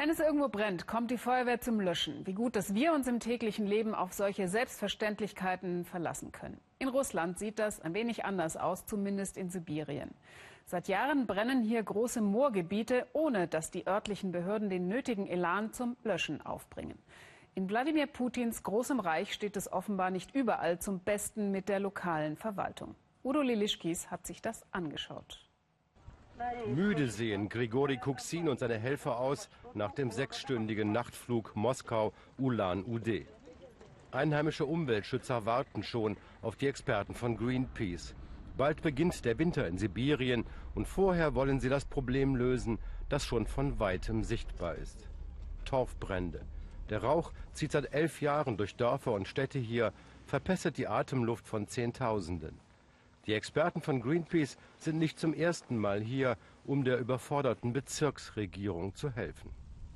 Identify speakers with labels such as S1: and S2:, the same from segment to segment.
S1: Wenn es irgendwo brennt, kommt die Feuerwehr zum Löschen. Wie gut, dass wir uns im täglichen Leben auf solche Selbstverständlichkeiten verlassen können. In Russland sieht das ein wenig anders aus, zumindest in Sibirien. Seit Jahren brennen hier große Moorgebiete, ohne dass die örtlichen Behörden den nötigen Elan zum Löschen aufbringen. In Wladimir Putins großem Reich steht es offenbar nicht überall zum Besten mit der lokalen Verwaltung. Udo Lilischkis hat sich das angeschaut.
S2: Müde sehen Grigori Kuksin und seine Helfer aus nach dem 6-stündigen Nachtflug Moskau-Ulan-Ude. Einheimische Umweltschützer warten schon auf die Experten von Greenpeace. Bald beginnt der Winter in Sibirien und vorher wollen sie das Problem lösen, das schon von weitem sichtbar ist. Torfbrände. Der Rauch zieht seit 11 Jahren durch Dörfer und Städte hier, verpestet die Atemluft von Zehntausenden. Die Experten von Greenpeace sind nicht zum ersten Mal hier, um der überforderten Bezirksregierung zu helfen.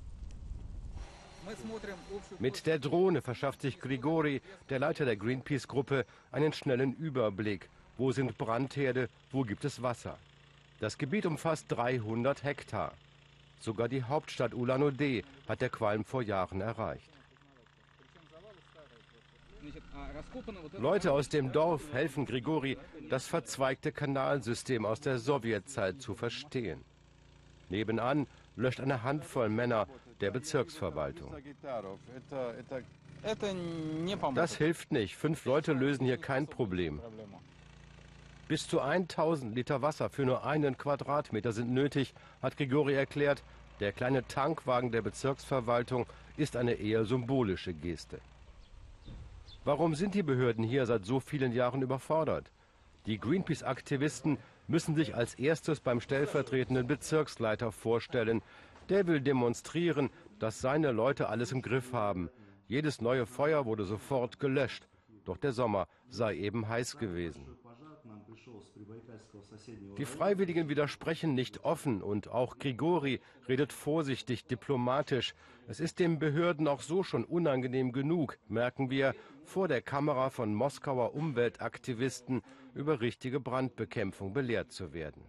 S2: Mit der Drohne verschafft sich Grigori, der Leiter der Greenpeace-Gruppe, einen schnellen Überblick. Wo sind Brandherde, wo gibt es Wasser? Das Gebiet umfasst 300 Hektar. Sogar die Hauptstadt Ulan-Ude hat der Qualm vor Jahren erreicht. Leute aus dem Dorf helfen Grigori, das verzweigte Kanalsystem aus der Sowjetzeit zu verstehen. Nebenan löscht eine Handvoll Männer der Bezirksverwaltung. Das hilft nicht. 5 Leute lösen hier kein Problem. Bis zu 1000 Liter Wasser für nur 1 Quadratmeter sind nötig, hat Grigori erklärt. Der kleine Tankwagen der Bezirksverwaltung ist eine eher symbolische Geste. Warum sind die Behörden hier seit so vielen Jahren überfordert? Die Greenpeace-Aktivisten müssen sich als erstes beim stellvertretenden Bezirksleiter vorstellen. Der will demonstrieren, dass seine Leute alles im Griff haben. Jedes neue Feuer wurde sofort gelöscht. Doch der Sommer sei eben heiß gewesen. Die Freiwilligen widersprechen nicht offen und auch Grigori redet vorsichtig diplomatisch. Es ist den Behörden auch so schon unangenehm genug, merken wir, vor der Kamera von Moskauer Umweltaktivisten über richtige Brandbekämpfung belehrt zu werden.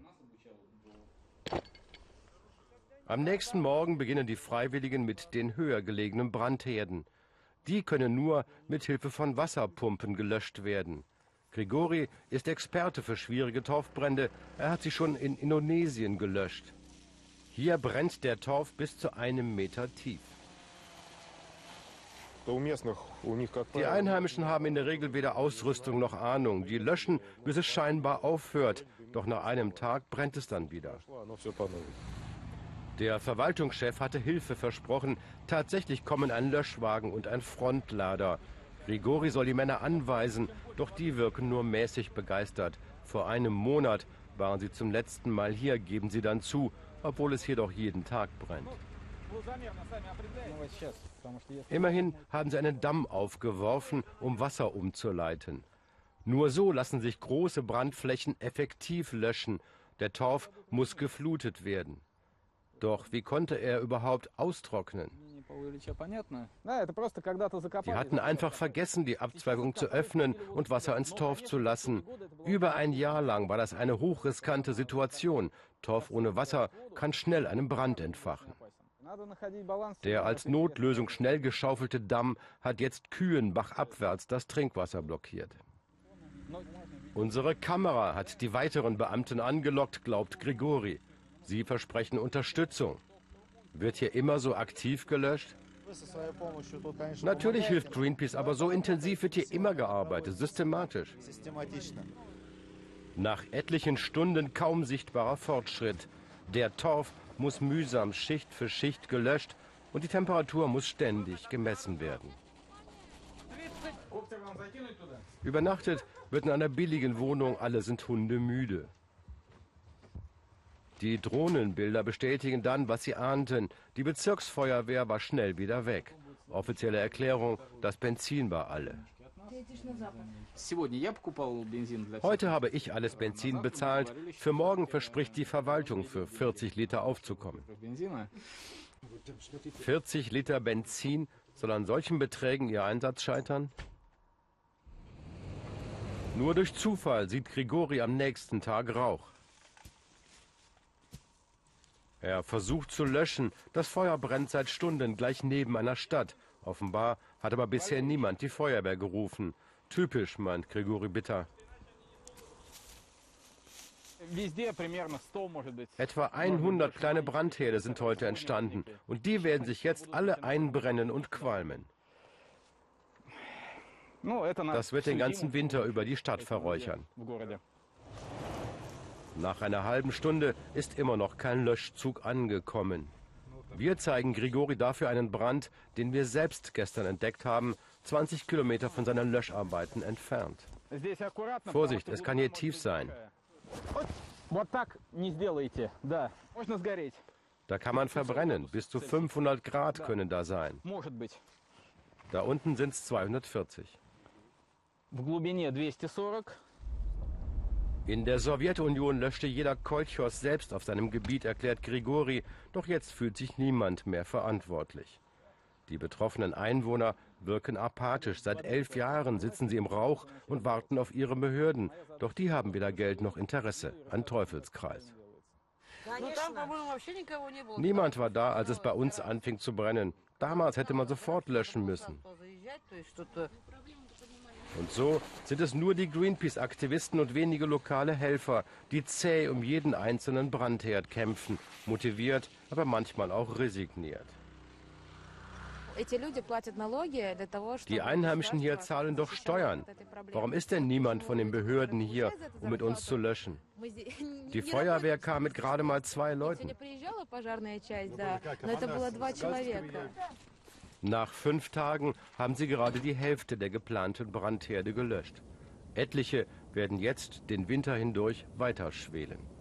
S2: Am nächsten Morgen beginnen die Freiwilligen mit den höher gelegenen Brandherden. Die können nur mit Hilfe von Wasserpumpen gelöscht werden. Grigori ist Experte für schwierige Torfbrände. Er hat sie schon in Indonesien gelöscht. Hier brennt der Torf bis zu 1 Meter tief. Die Einheimischen haben in der Regel weder Ausrüstung noch Ahnung. Die löschen, bis es scheinbar aufhört. Doch nach einem Tag brennt es dann wieder. Der Verwaltungschef hatte Hilfe versprochen. Tatsächlich kommen ein Löschwagen und ein Frontlader. Grigori soll die Männer anweisen, doch die wirken nur mäßig begeistert. Vor einem Monat waren sie zum letzten Mal hier, geben sie dann zu, obwohl es hier doch jeden Tag brennt. Immerhin haben sie einen Damm aufgeworfen, um Wasser umzuleiten. Nur so lassen sich große Brandflächen effektiv löschen. Der Torf muss geflutet werden. Doch wie konnte er überhaupt austrocknen? Die hatten einfach vergessen, die Abzweigung zu öffnen und Wasser ins Torf zu lassen. Über ein Jahr lang war das eine hochriskante Situation. Torf ohne Wasser kann schnell einen Brand entfachen. Der als Notlösung schnell geschaufelte Damm hat jetzt Kühen bachabwärts das Trinkwasser blockiert. Unsere Kamera hat die weiteren Beamten angelockt, glaubt Grigori. Sie versprechen Unterstützung. Wird hier immer so aktiv gelöscht? Natürlich hilft Greenpeace, aber so intensiv wird hier immer gearbeitet, systematisch. Nach etlichen Stunden kaum sichtbarer Fortschritt. Der Torf muss mühsam Schicht für Schicht gelöscht und die Temperatur muss ständig gemessen werden. Übernachtet wird in einer billigen Wohnung, alle sind hundemüde. Die Drohnenbilder bestätigen dann, was sie ahnten. Die Bezirksfeuerwehr war schnell wieder weg. Offizielle Erklärung, das Benzin war alle. Heute habe ich alles Benzin bezahlt. Für morgen verspricht die Verwaltung, für 40 Liter aufzukommen. 40 Liter Benzin, soll an solchen Beträgen ihr Einsatz scheitern? Nur durch Zufall sieht Grigori am nächsten Tag Rauch. Er versucht zu löschen. Das Feuer brennt seit Stunden gleich neben einer Stadt. Offenbar hat aber bisher niemand die Feuerwehr gerufen. Typisch, meint Grigori bitter. Etwa 100 kleine Brandherde sind heute entstanden. Und die werden sich jetzt alle einbrennen und qualmen. Das wird den ganzen Winter über die Stadt verräuchern. Nach einer halben Stunde ist immer noch kein Löschzug angekommen. Wir zeigen Grigori dafür einen Brand, den wir selbst gestern entdeckt haben, 20 Kilometer von seinen Löscharbeiten entfernt. Vorsicht, es kann hier tief sein. Da kann man verbrennen. Bis zu 500 Grad können da sein. Da unten sind es 240. In der Sowjetunion löschte jeder Kolchos selbst auf seinem Gebiet, erklärt Grigori. Doch jetzt fühlt sich niemand mehr verantwortlich. Die betroffenen Einwohner wirken apathisch. Seit 11 Jahren sitzen sie im Rauch und warten auf ihre Behörden. Doch die haben weder Geld noch Interesse an Teufelskreis. Niemand war da, als es bei uns anfing zu brennen. Damals hätte man sofort löschen müssen. Und so sind es nur die Greenpeace-Aktivisten und wenige lokale Helfer, die zäh um jeden einzelnen Brandherd kämpfen, motiviert, aber manchmal auch resigniert. Die Einheimischen hier zahlen doch Steuern. Warum ist denn niemand von den Behörden hier, um mit uns zu löschen? Die Feuerwehr kam mit gerade mal 2 Leuten. Nach 5 Tagen haben sie gerade die Hälfte der geplanten Brandherde gelöscht. Etliche werden jetzt den Winter hindurch weiter schwelen.